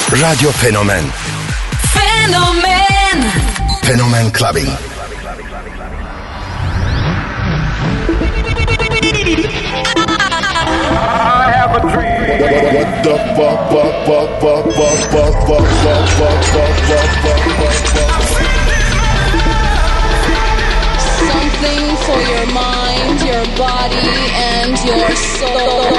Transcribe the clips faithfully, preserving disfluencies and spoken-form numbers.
Radyo Fenomen. Fenomen. Fenomen Clubbing. I have a dream. What the fuck, fuck, fuck, fuck, fuck, fuck, fuck, fuck, fuck, fuck, fuck, fuck, fuck. Something for your mind, your body, and your soul.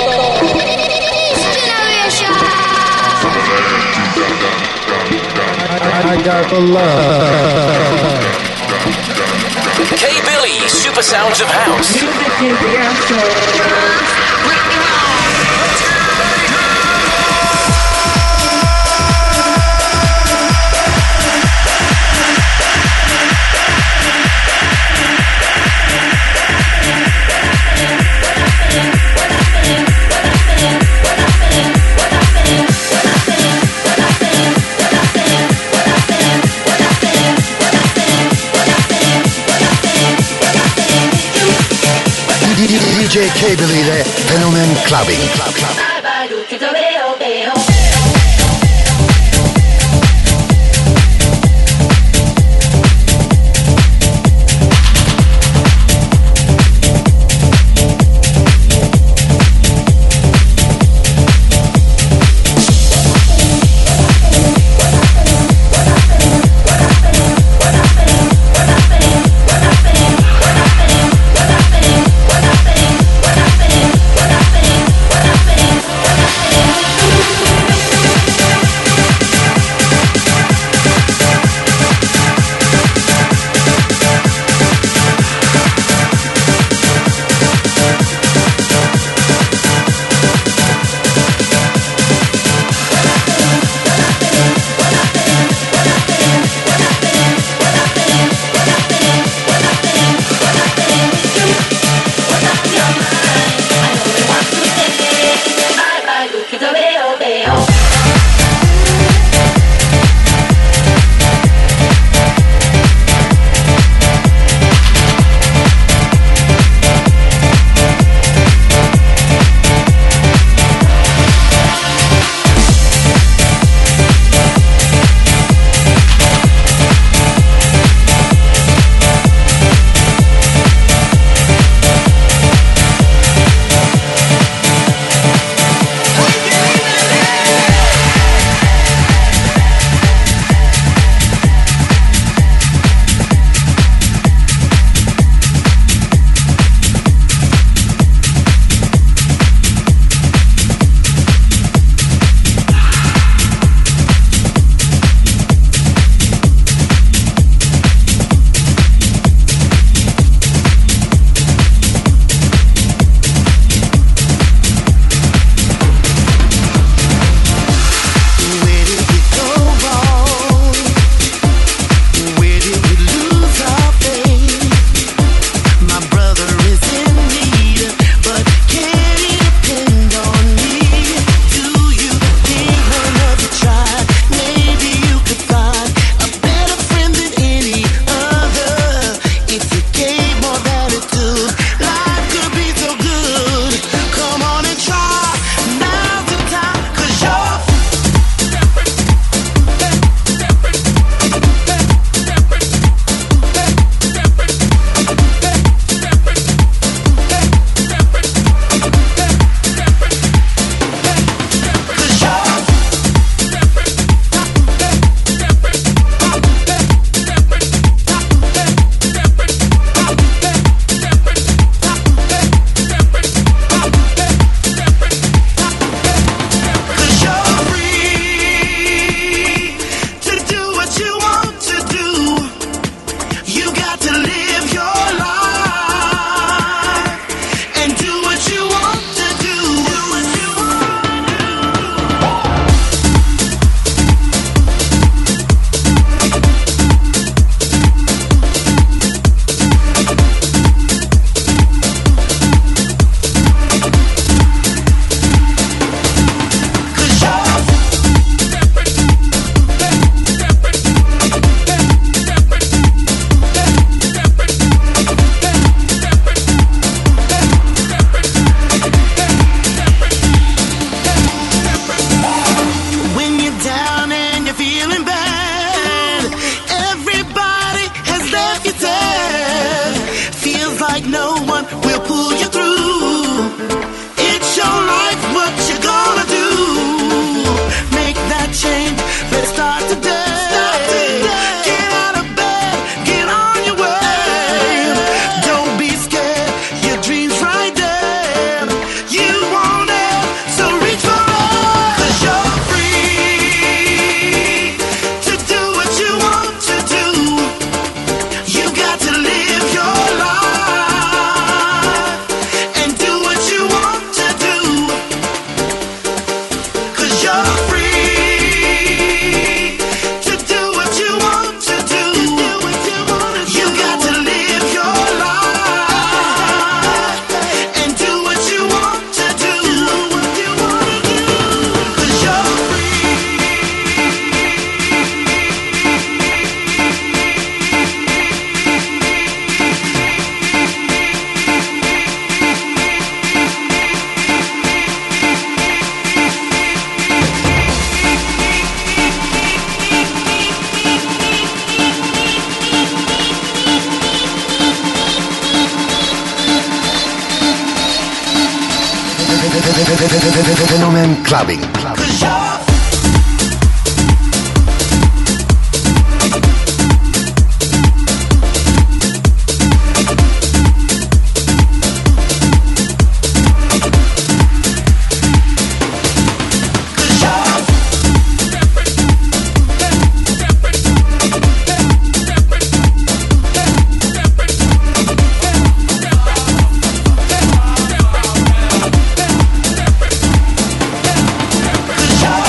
I, I got the love. K Billy, Super Sounds of House. Music is the answer. D J K Billy ile Fenomen Clubbing. Club, club. Hey, Fenomen Clubbing. Cause you're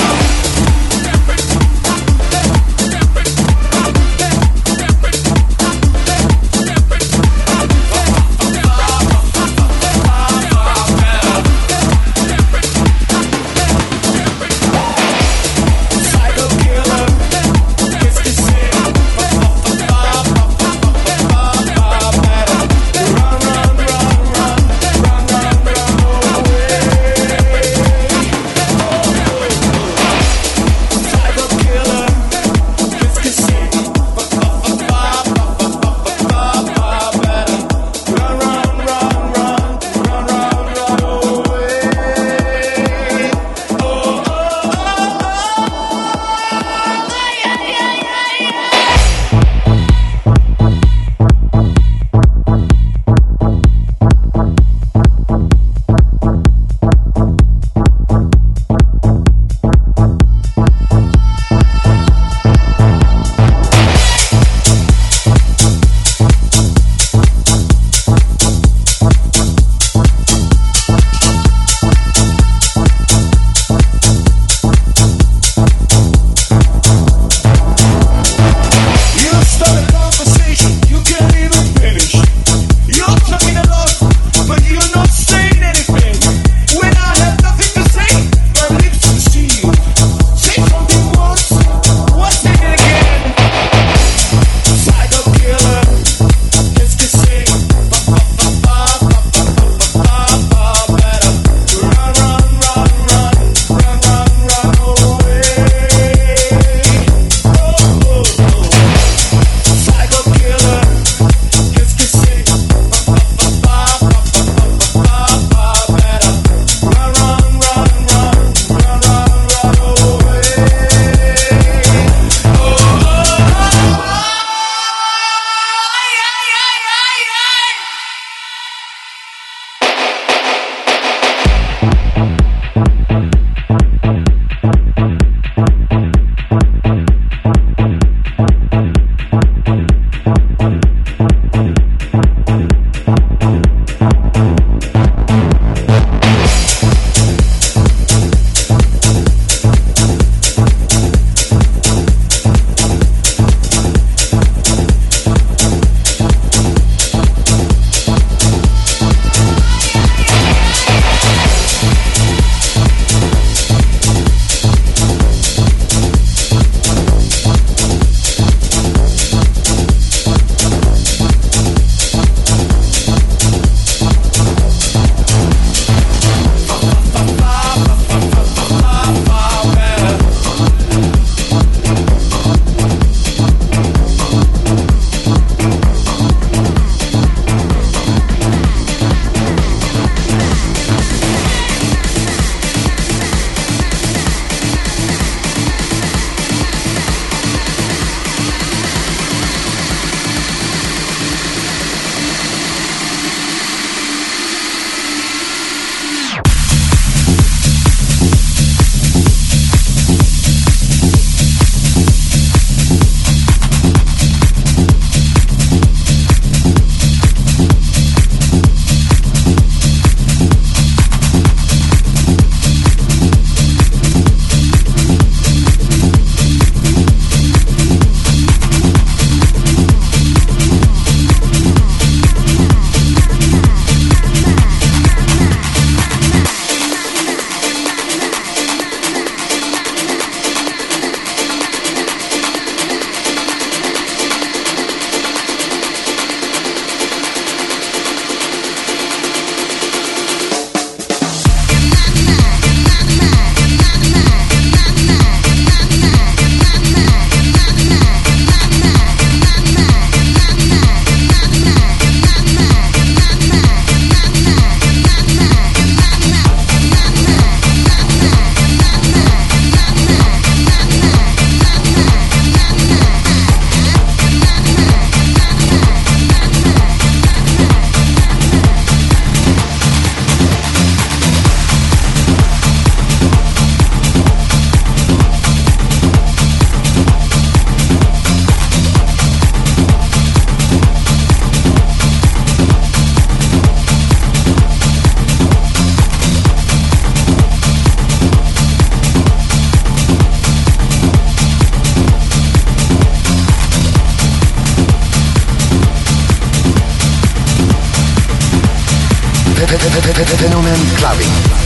Fenomen Clubbing.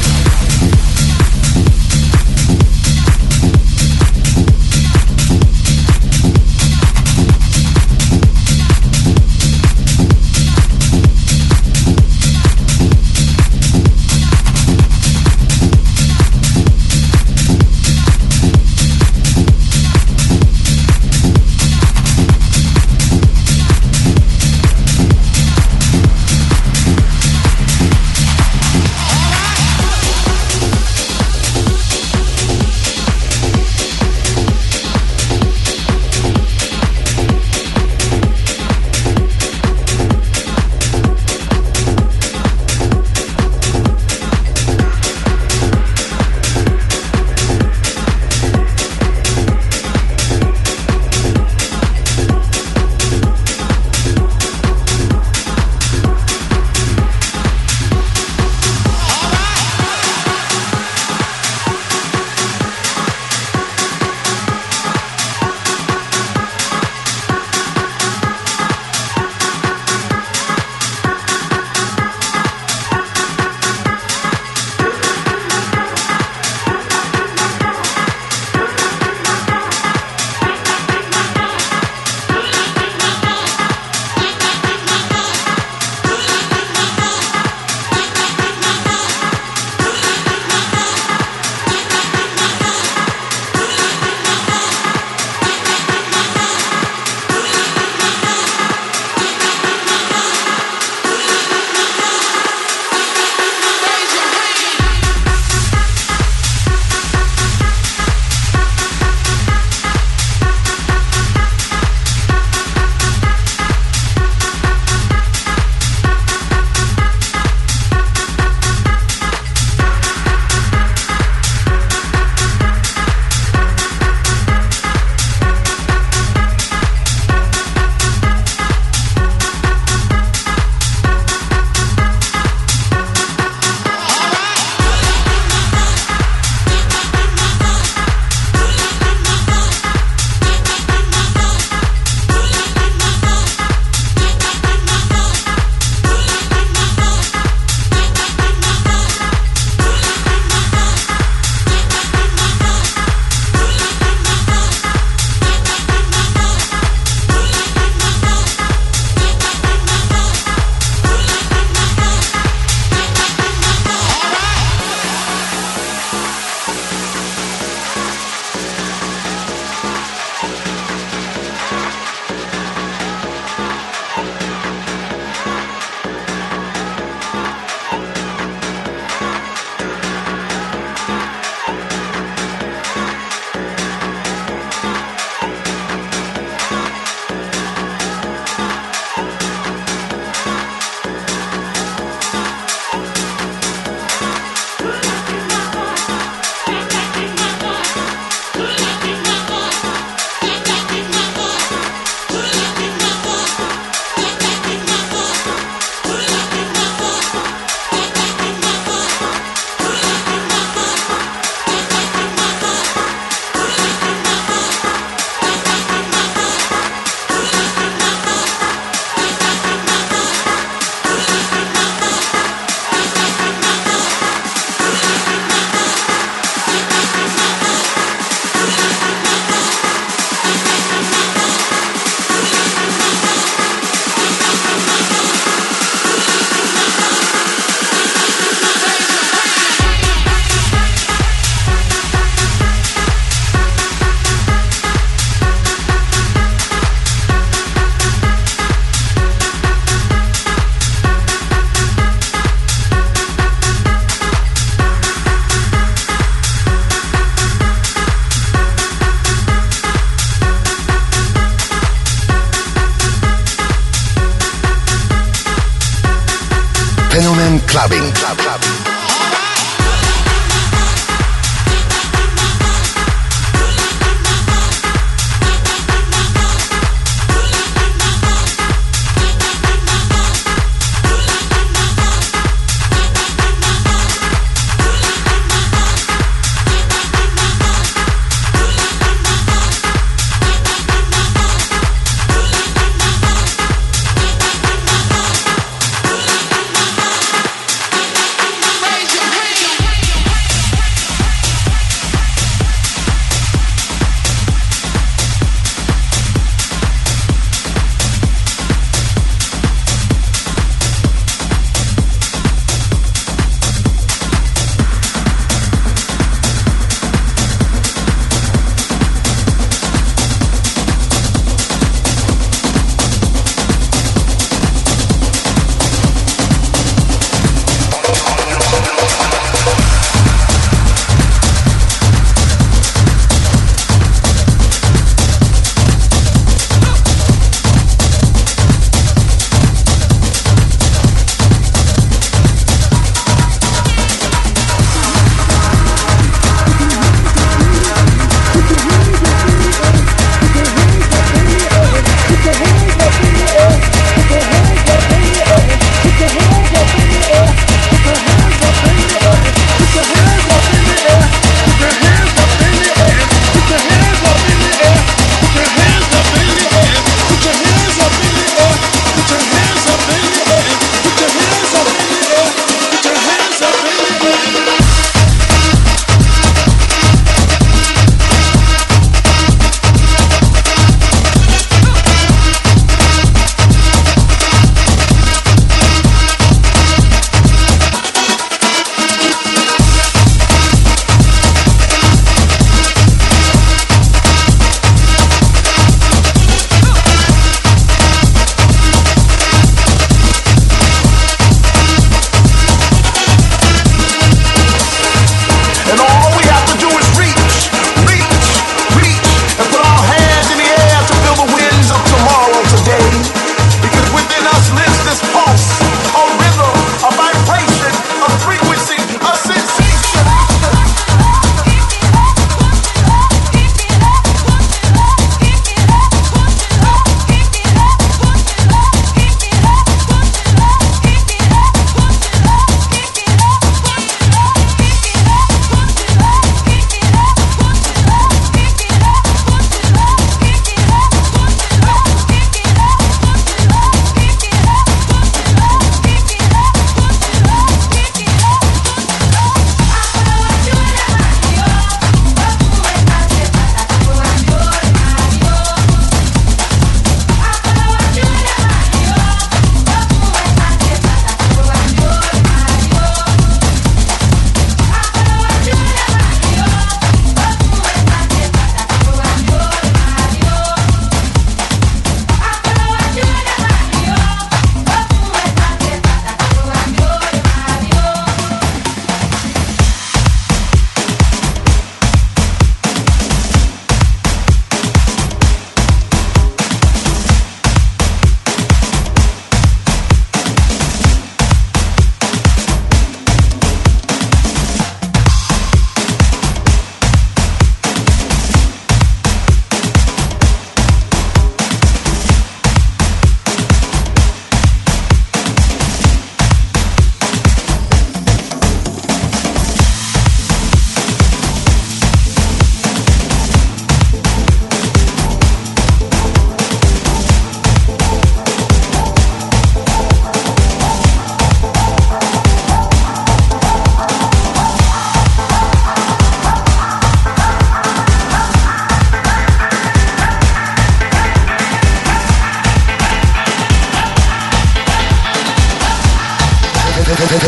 Fenomen Clubbing. Club, club.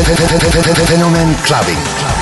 Fenomen Clubbing.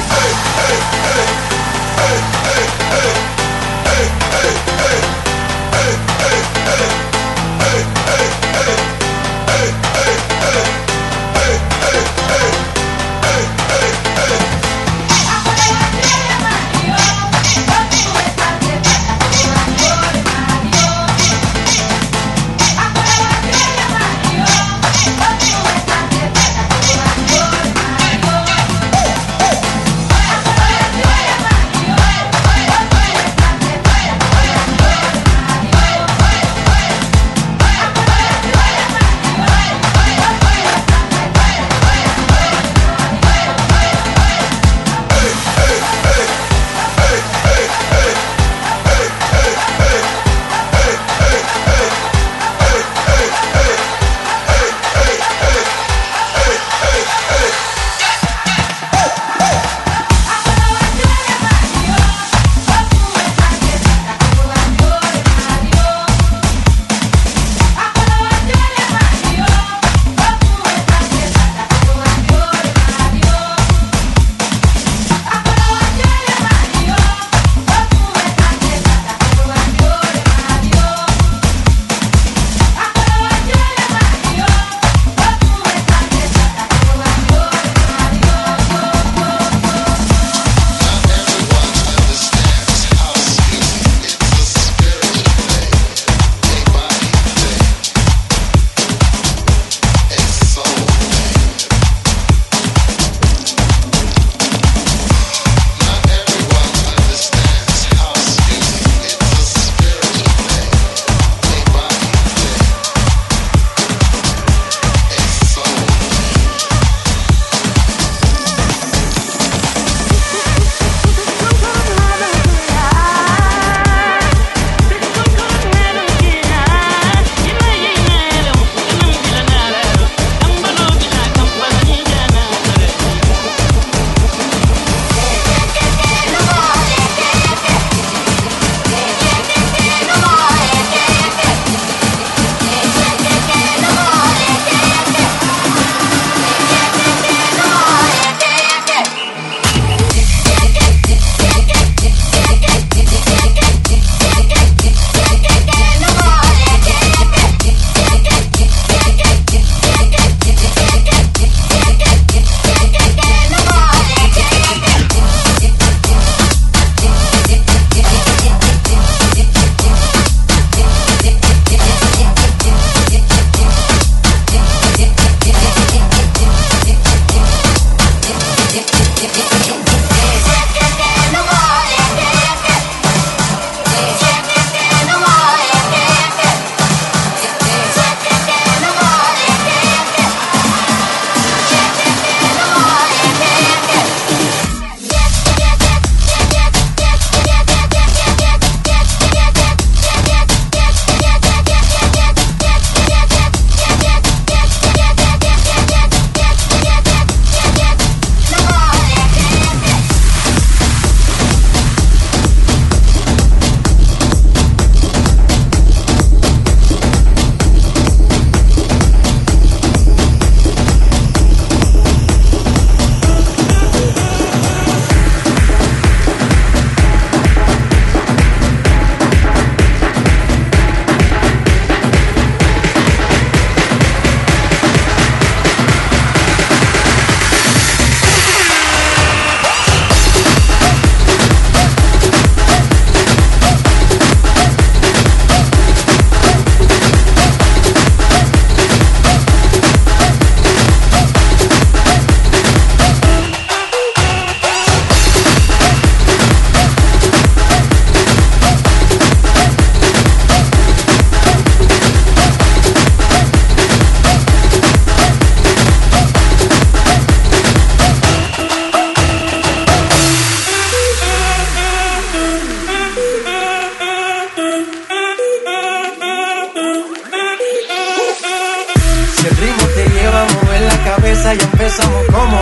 cabeza y empezamos como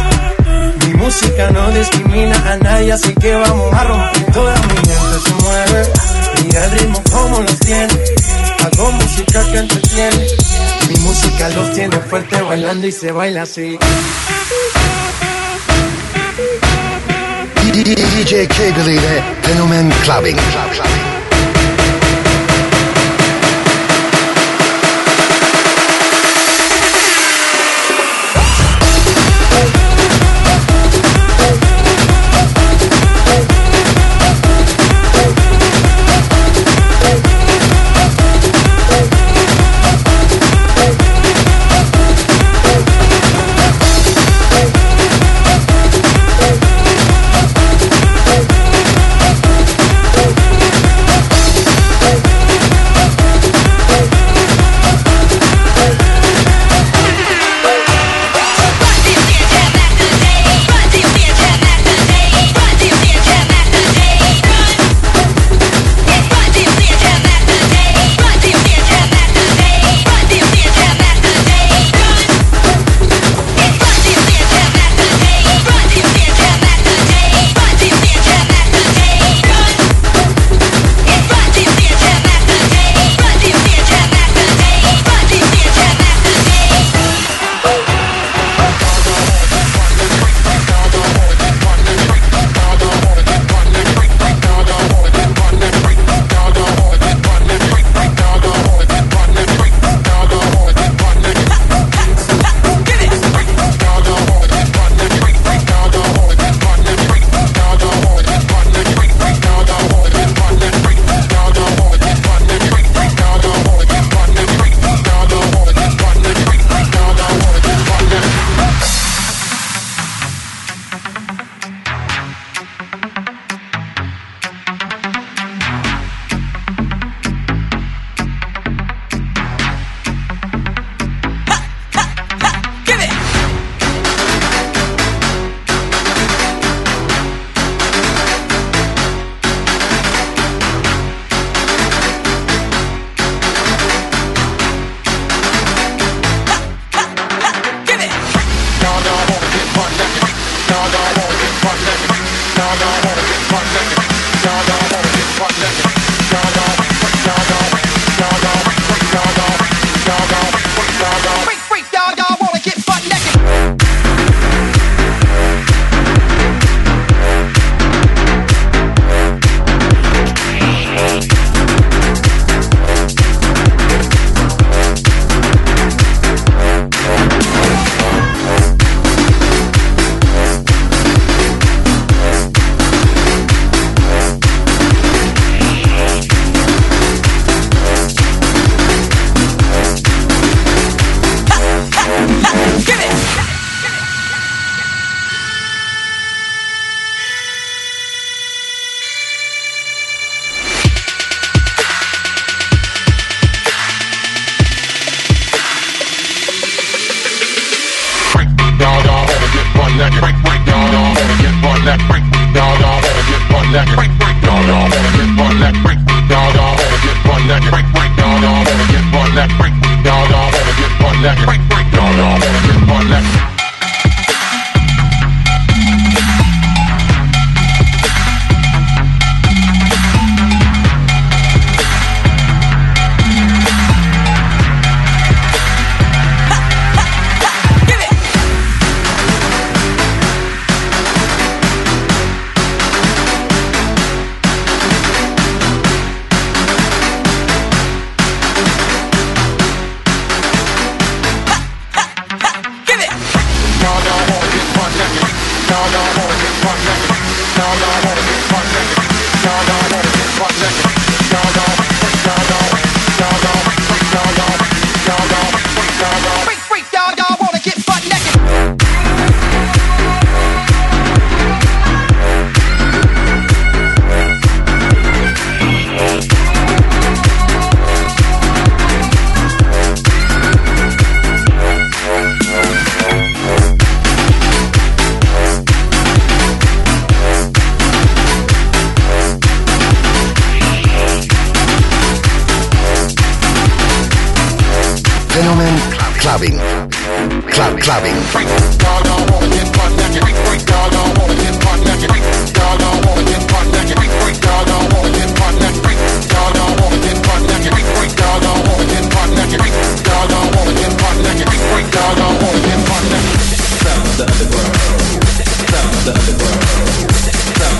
es. Mi música no discrimina a nadie, así que vamos a romper. Toda mi gente se mueve, mira el ritmo como los tiene. Hago música que entretiene. Mi música los tiene fuerte bailando y se baila así. D J Cable ile Fenomen Clubbing. Fenomen Clubbing. Club Clubbing. Sound of the world. Sound of the world.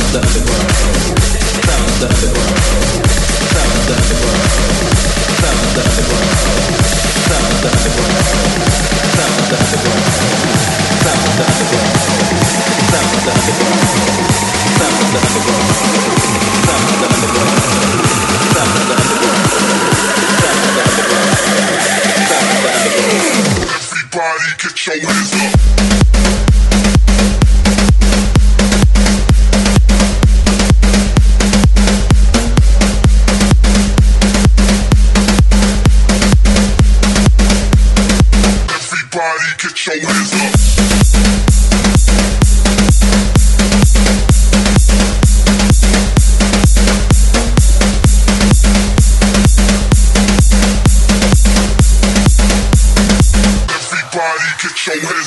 Get your hands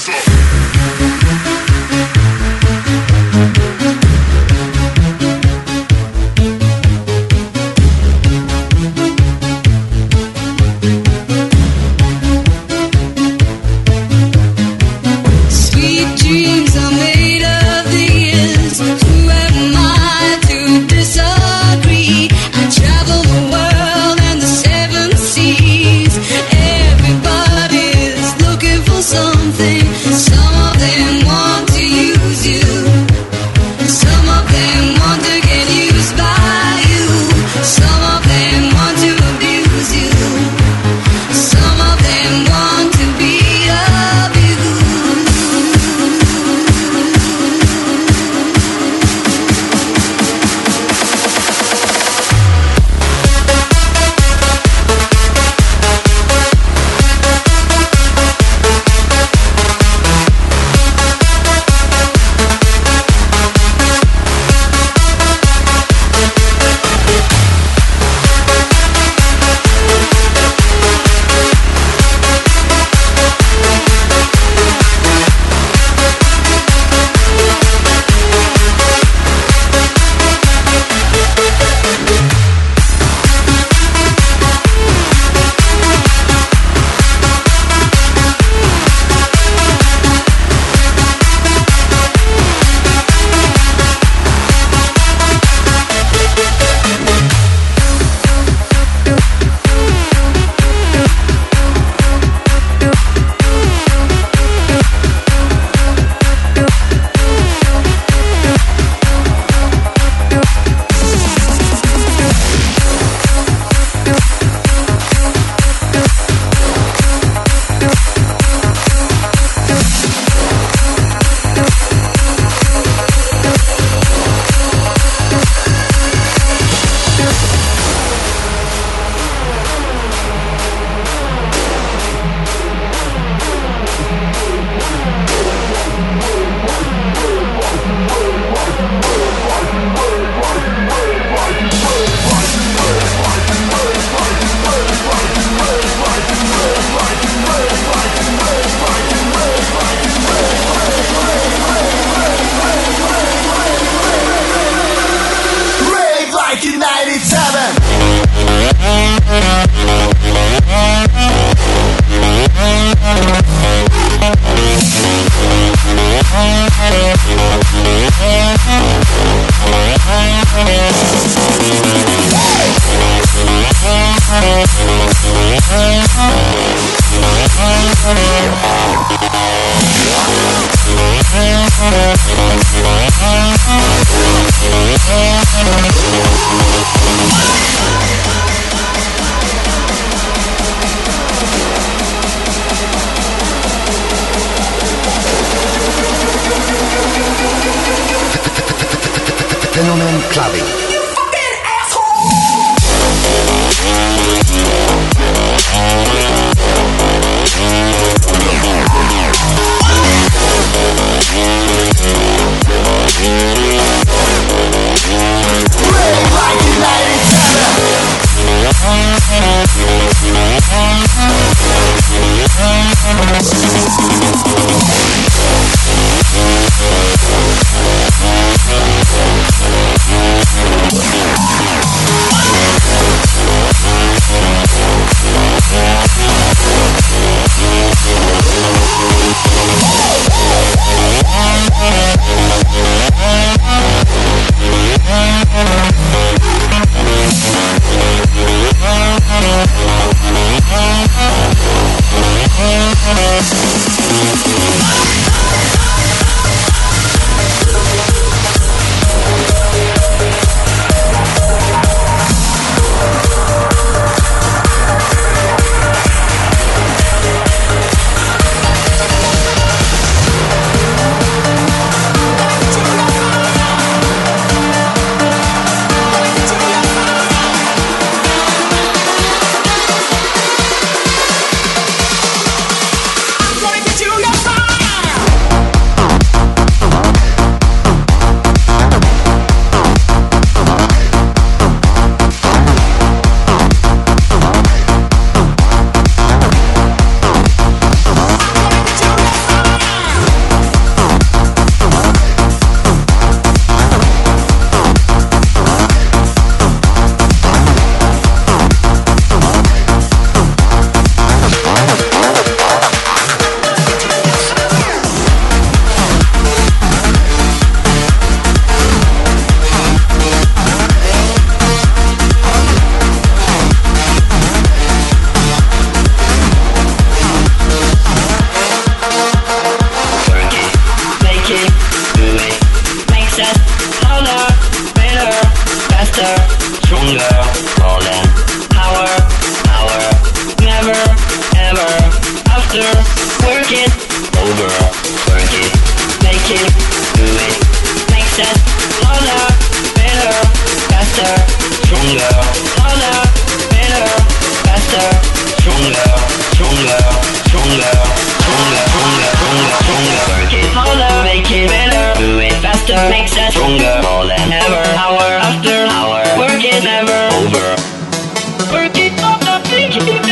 makes us stronger more than ever. Hour after hour, work is never over. Work it up, the thing you do.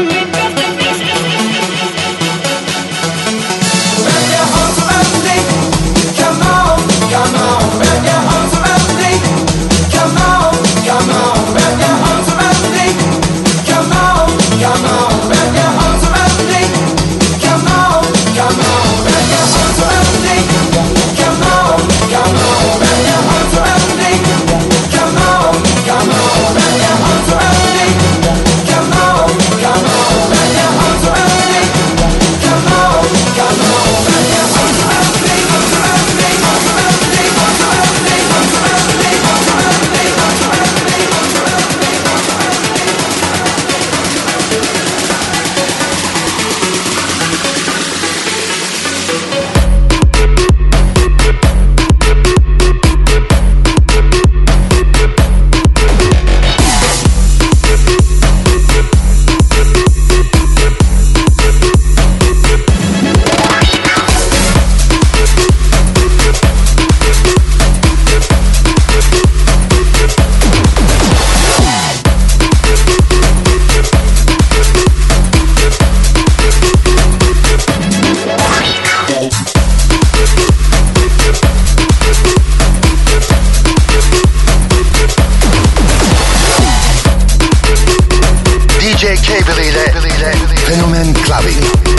Wrap your arms around me. Come on, come on. Wrap your arms around me. Come on, come on. Wrap your arms around me. Come on, come on. Wrap your arms around me. Come on, come on. Wrap your arms around me. Come on, come on. Wrap your arms around me. Come on, come on. Wrap your arms around me. Come on, come on. Wrap your arms around me. Come on, come on. Wrap your arms around me. Arms around me. Arms around me. Arms around me. Arms around me. Arms around me. Arms around me. Arms around me. Arms D J Cable ile Fenomen Clubbing.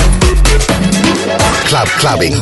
Club Clubbing.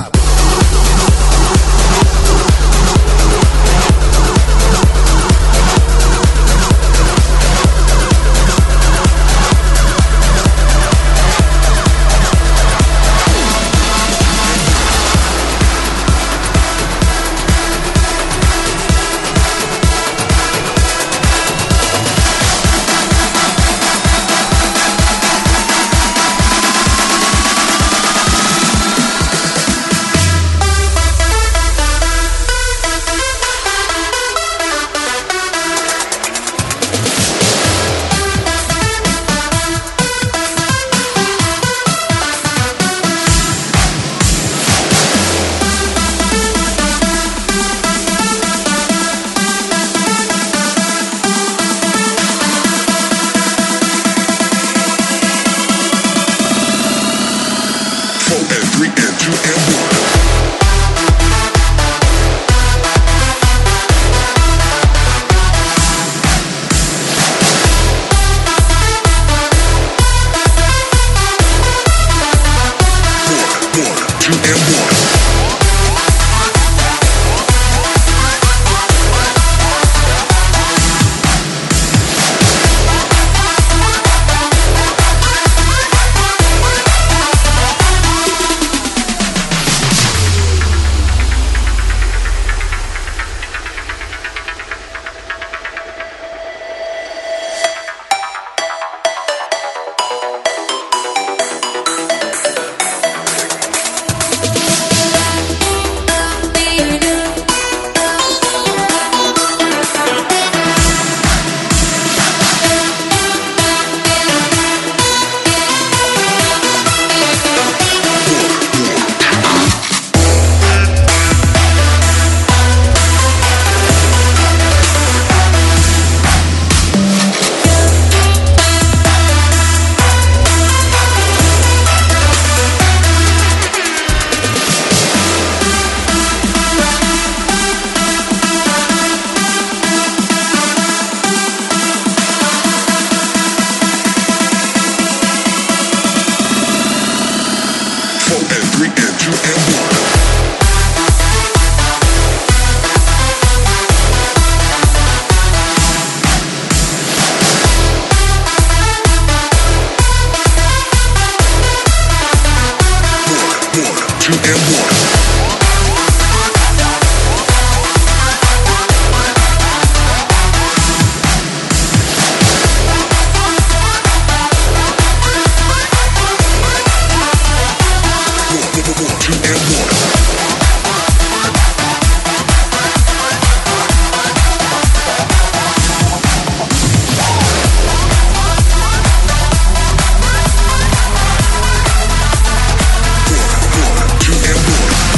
Two and one.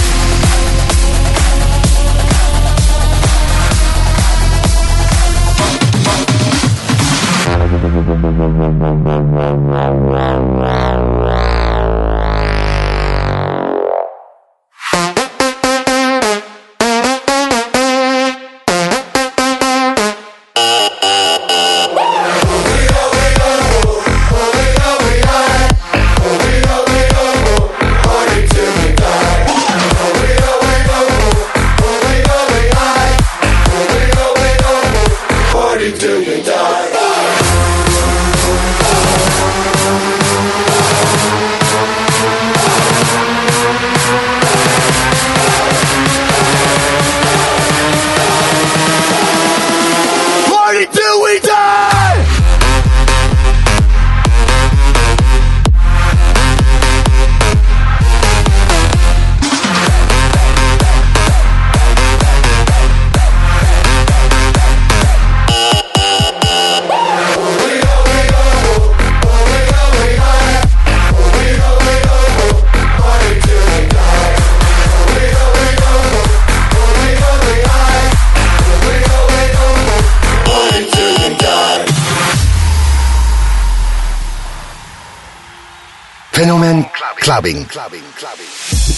Fenomen Clubbing. Clubbing. Clubbing.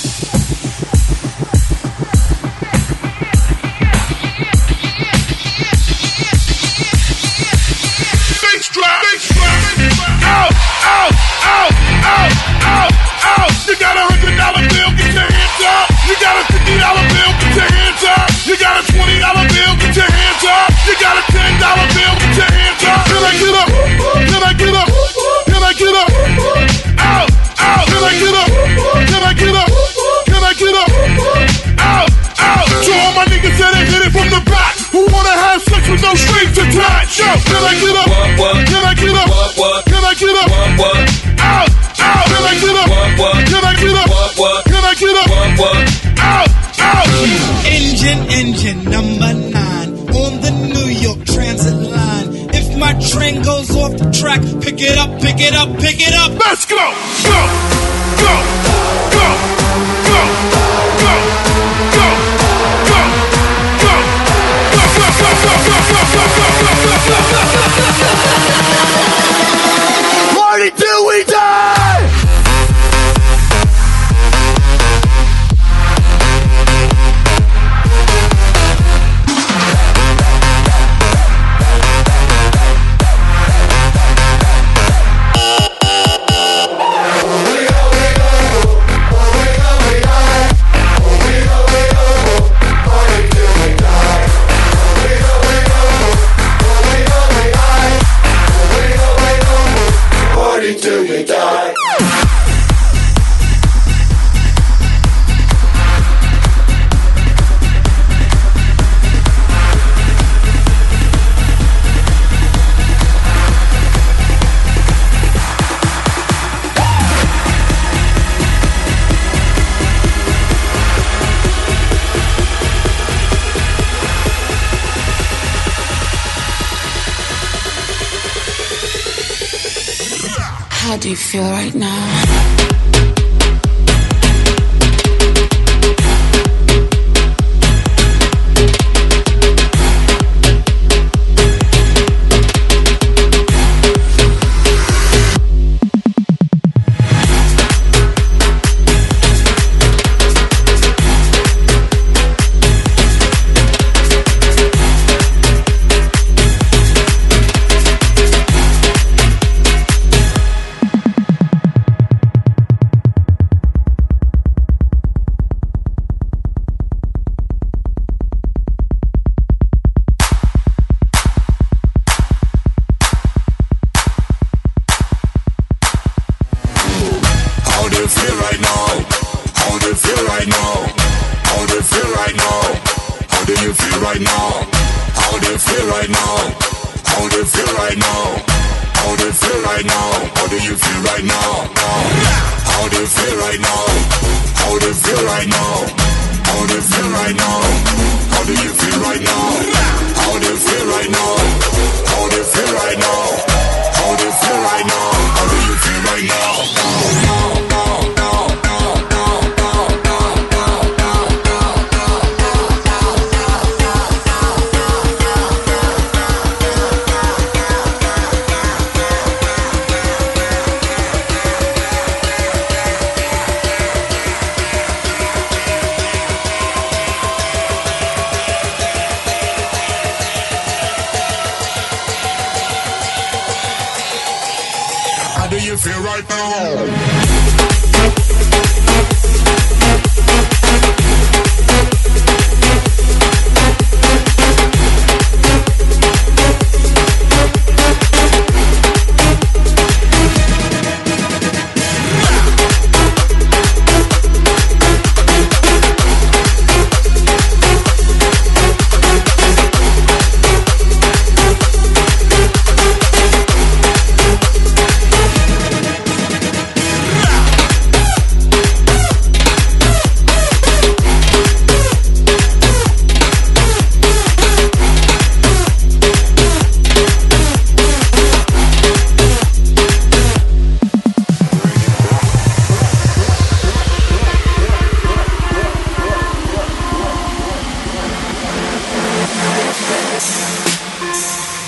Out, out, out, out, out, out. You got a hundred dollar bill, get your hands up. You got a fifty dollar bill, get your hands up. You got a twenty dollar bill, get your hands up. You got a ten dollar bill, get your hands up. Can I get up? Can I get up? Can I get up? Out, out. Can I get up? Can I get up? Can I get up? Out, out. To all my niggas that ain't hit it from the back, who wanna have sex with no strings attached. Yo, can I get up? Can I get up? Can I get up? Out, out. Can I get up? Can I get up? Can I get up? Out, out. Engine, engine number nine on the New York Transit line. If my train goes off the track, pick it up, pick it up, pick it up. Let's go, go, go, go, go, go, go, go, go, party till we die. Till we die. How do you feel right now?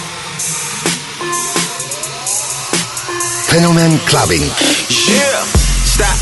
Fenomen Clubbing. Yeah.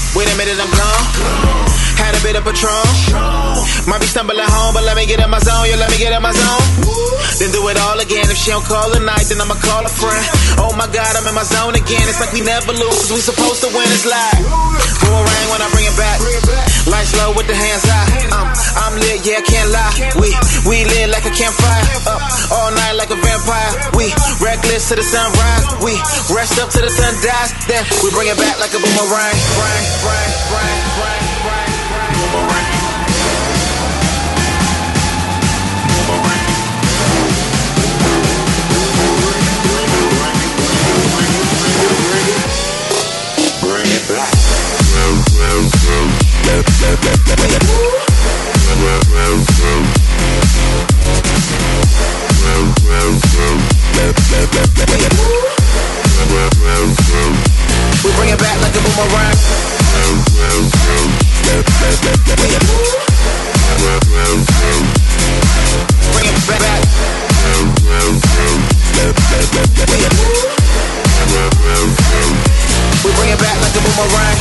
wait a minute, I'm gone. Had a bit of Patron. Might be stumbling home, but let me get in my zone. Yeah, let me get in my zone. Then do it all again. If she don't call tonight, then I'ma call a friend. Oh my God, I'm in my zone again. It's like we never lose, cause we supposed to win. It's live. Boomerang when I bring it back. Lights low with the hands high. Um, I'm lit, yeah, can't lie. We we lit like a campfire. Up all night like a vampire. We reckless to the sunrise. We rest up till the sun dies. Then we bring it back like a boomerang. Bang, bang, bang, bang, bang, bang. Boomerang. Bring it back. We bring it back like a boomerang. Bring it back. We bring it back like a boomerang.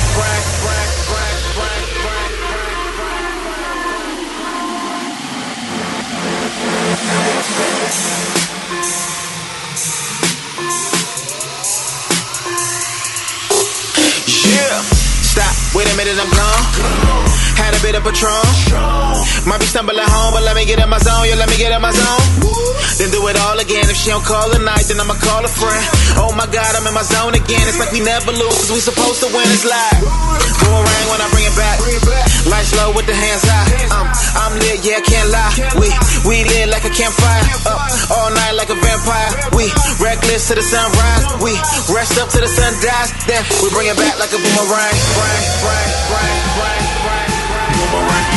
Yeah. Stop, wait a minute, I'm gone. Had a bit of Patron. Might be stumbling home, but let me get in my zone. Yeah, let me get in my zone. Then do it all again. If she don't call tonight, then I'ma call a friend. Oh my God, I'm in my zone again. It's like we never lose, cause we supposed to win. It's live. Boomerang when I bring it back. Lights low with the hands high. Um, I'm lit, yeah, can't lie. We we lit like a campfire. Up all night like a vampire. We reckless to the sunrise. We rest up till the sun dies. Then we bring it back like a boomerang. Bang, bang, bang, bang, bang, bang. Boomerang.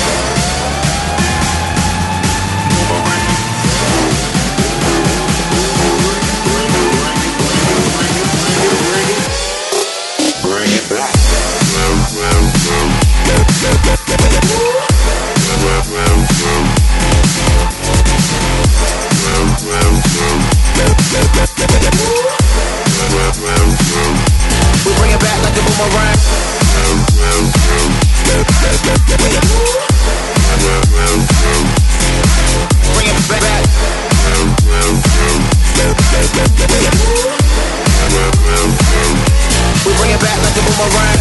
Bring it back. We bring it back like a boomerang. Bring it back. We bring it back like a boomerang.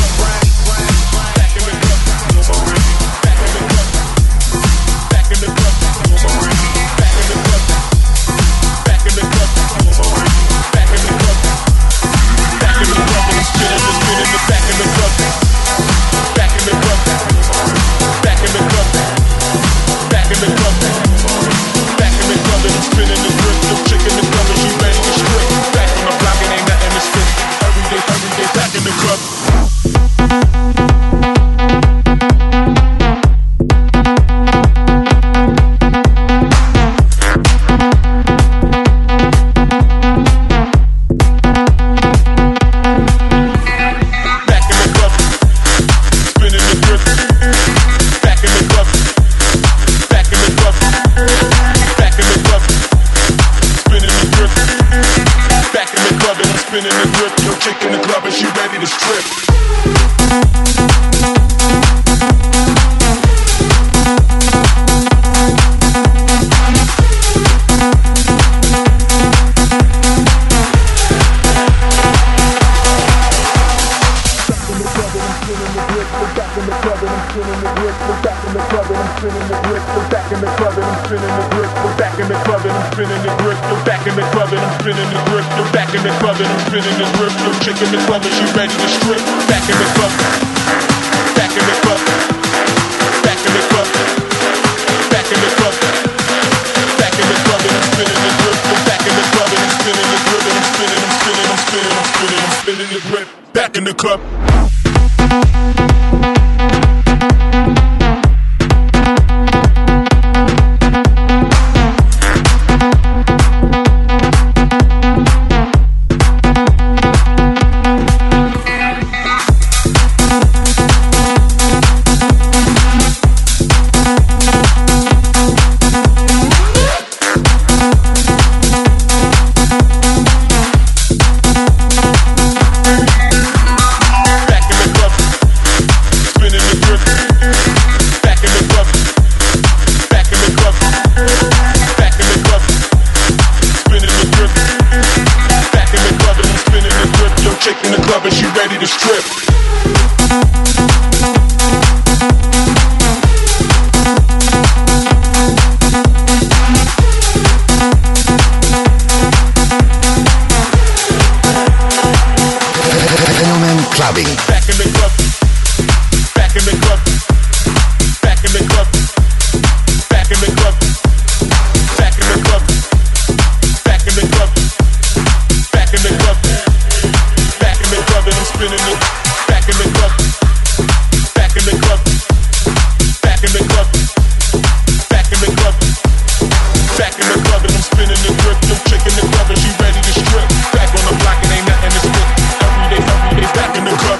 Back in the club. Back in the club. strip. Fenomen Clubbing. Back in the club. Back in the club. Back in the club. Back in the club. Back in the club. Back in the club. Back in the club. Back in the club and I'm spinning it. Back in the club. Back in the club. Back in the club. Back in the club. Back in the club and I'm spinning the grip. No chick in the club and she ready to strip. Back on the block and ain't nothing to spit. Every day, every day, back in the club.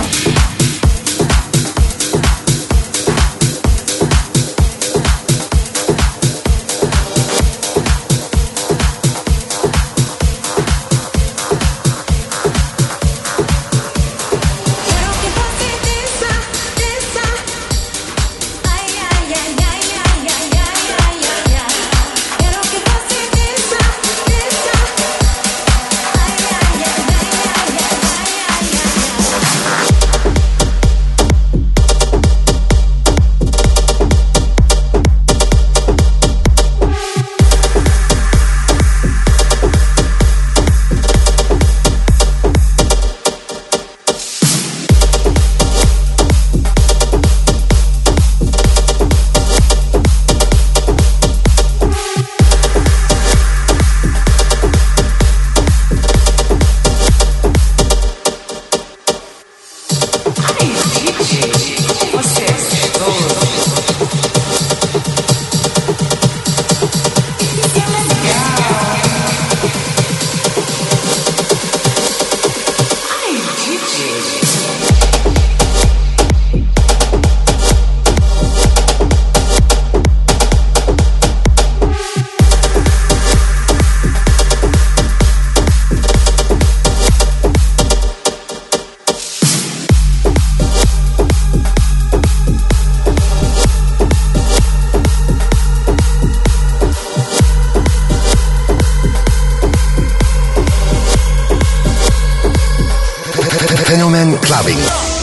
Fenomen Clubbing.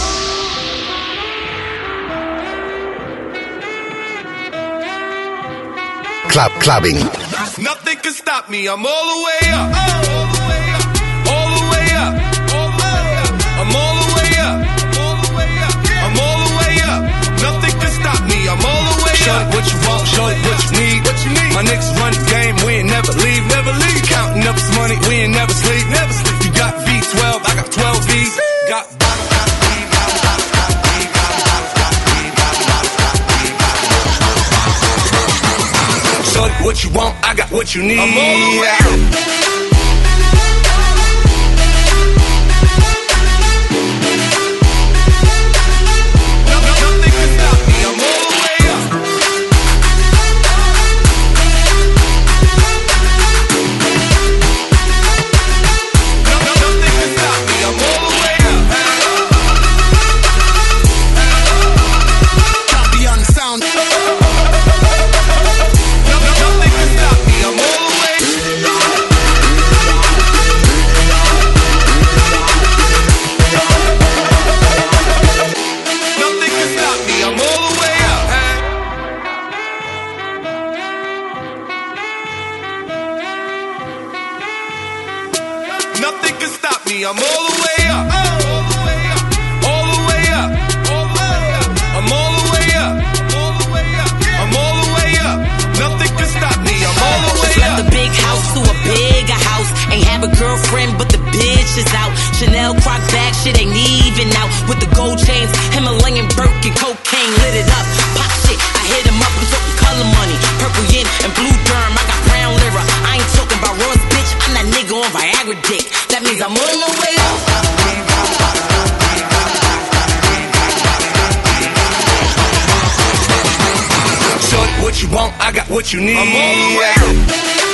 Club Clubbing. Nothing can stop me. I'm all the way up. All the way up. All the way up. I'm all the way up. I'm all the way up. Nothing can stop me. I'm all the way up. Show it what you want, show it what you need. What you need. My niggas run the game, we ain't never leave, never leave. Counting up this money, we ain't never sleep, never sleep. You got V twelve, I got twelve V's. Got show it what you want, I got what you need. I'm all the way up. Nothing can stop me. I'm all the way up. All the way up. All the way up. I'm all the way up. I'm all the way up. Nothing can stop me. I'm all the way up. Left the big house to a bigger house. Ain't have a girlfriend, but the bitch is out. Chanel croc bag, shit ain't even out. With the gold chains, Himalayan Birkin, cocaine lit it up. Pop shit, I hit him up. I'm talking color money, purple yin and blue derm. I got brown lira. I ain't talking about Ross, bitch. I'm that nigga on Viagra dick. That means I'm on the way up. Show it what you want, I got what you need. I'm all the way up.